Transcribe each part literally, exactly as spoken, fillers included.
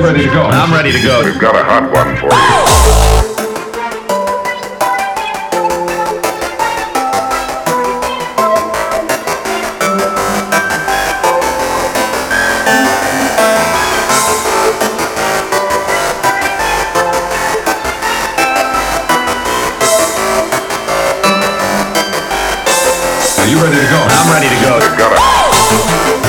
you ready to go? I'm ready to go. We've got a hot one for you. Are you ready to go? I'm ready to go. We've got a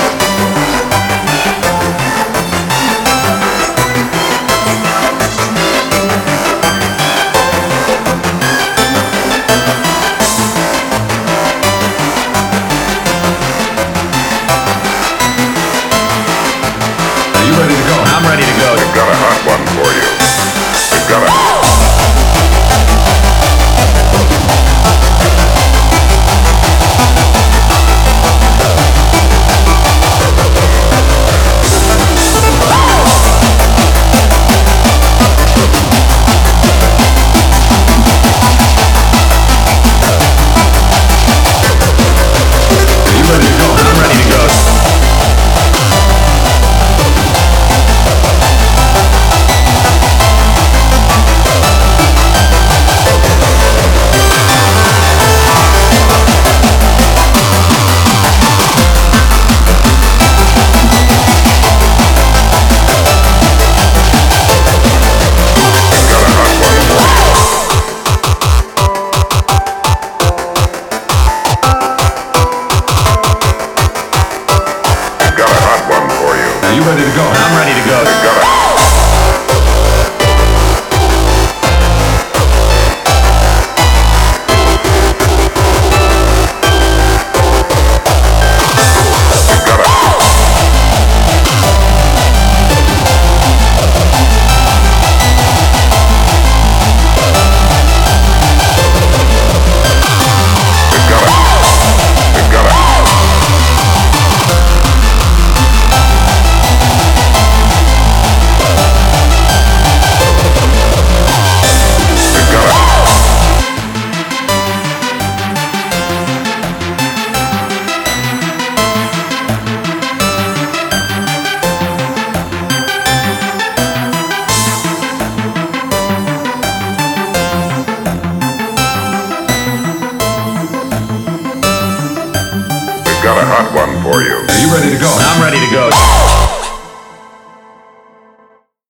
Are you ready to go? I'm ready to go. we've got a hot one for you. We've got a Are you ready to go? I'm ready to go. we've got a hot one for you. Are you ready to go? I'm ready to go. We've got a we've got a we've got a we've got a we've got a we've got a hot one for you. Are you ready to go? I'm ready to go.